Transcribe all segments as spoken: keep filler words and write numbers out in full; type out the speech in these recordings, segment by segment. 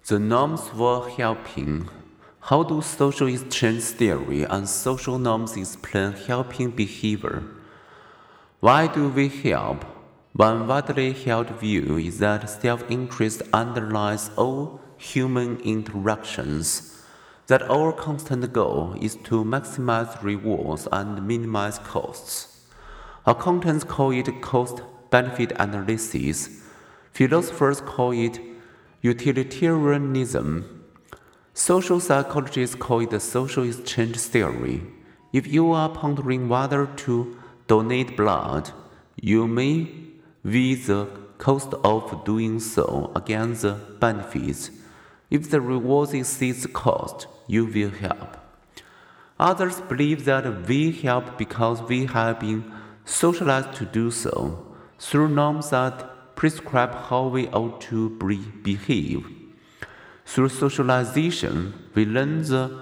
The norms for helping. How do social exchange theory and social norms explain helping behavior? Why do we help? One widely held view is that self-interest underlies all human interactions, that our constant goal is to maximize rewards and minimize costs. Accountants call it cost-benefit analysis. Philosophers call it utilitarianism. Social psychologists call it the social exchange theory. If you are pondering whether to donate blood, you may weigh the cost of doing so against the benefits. If the reward exceeds the cost, you will help. Others believe that we help because we have been socialized to do so, through norms that prescribe how we ought to behave. Through socialization, we learn the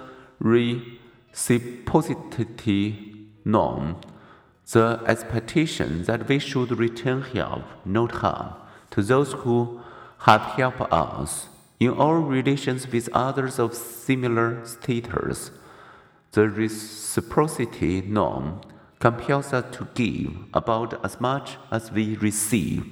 reciprocity norm, the expectation that we should return help, not harm, to those who have helped us. In our relations with others of similar status, the reciprocity norm compels us to give about as much as we receive.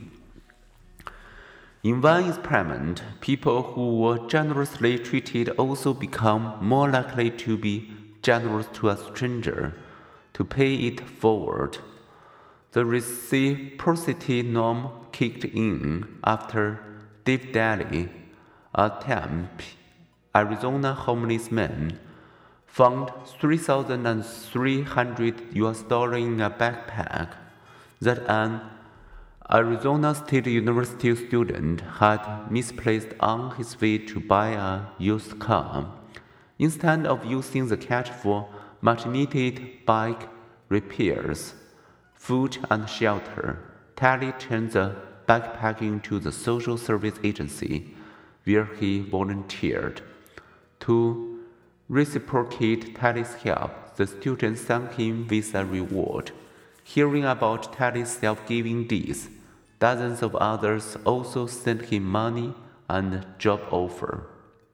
In one experiment, people who were generously treated also become more likely to be generous to a stranger, to pay it forward. The reciprocity norm kicked in after Dave Daly, a Tempe, Arizona homeless man, found three thousand three hundred U S dollars in a backpack that an Arizona State University student had misplaced on his way to buy a used car. Instead of using the cash for much-needed bike repairs, food, and shelter, Tally turned the backpack into the social service agency where he volunteered. To reciprocate Tally's help, the student thanked him with a reward. Hearing about Tally's self-giving deeds, dozens of others also sent him money and job offer.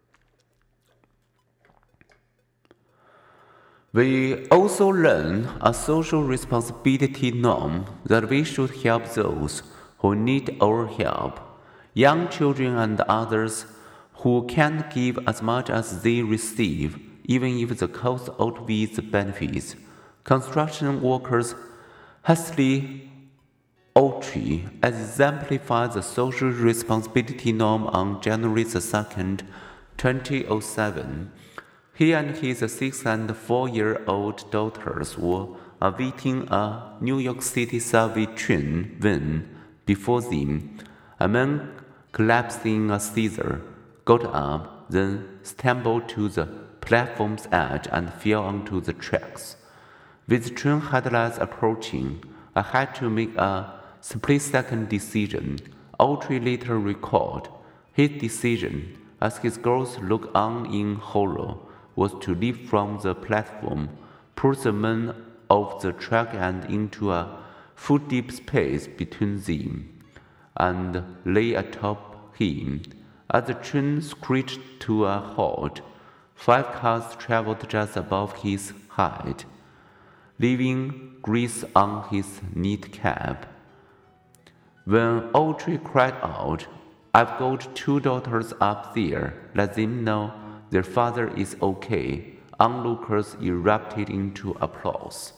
We also learn a social responsibility norm that we should help those who need our help, young children and others who can't give as much as they receive, even if the cost outweighs the benefits. Construction workers Hastily Autry exemplified the social responsibility norm on January second, twenty oh seven. He and his six and four-year-old daughters were awaiting a New York City subway train when, before them, a man collapsed in a seizure, got up, then stumbled to the platform's edge and fell onto the tracks. With train headlights approaching, I had to make a split-second decision. Autry later recalled. His decision, as his girls looked on in horror, was to leap from the platform, push the man off the track and into a foot-deep space between them, and lay atop him. As the train screeched to a halt, five cars traveled just above his head, leaving grease on his kneecap. When Autry cried out, "I've got two daughters up there, let them know their father is okay," onlookers erupted into applause.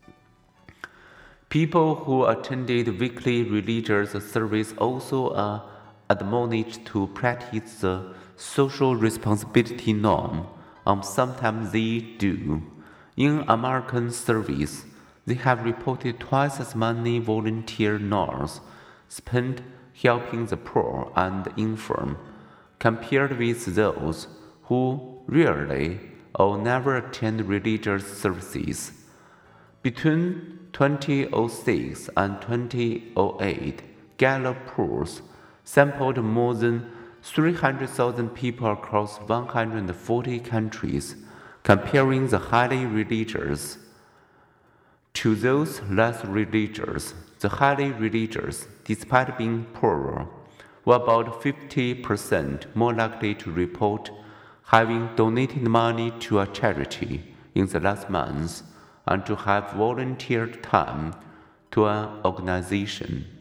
People who attended weekly religious service also are admonished to practice the social responsibility norm, and sometimes they do. In American service, they have reported twice as many volunteer hours spent helping the poor and infirm, compared with those who rarely or never attend religious services. Between twenty oh six and twenty oh eight, Gallup polls sampled more than three hundred thousand people across one hundred forty countries, comparing the highly religious to those less religious. The highly religious, despite being poorer, were about fifty percent more likely to report having donated money to a charity in the last month and to have volunteered time to an organization.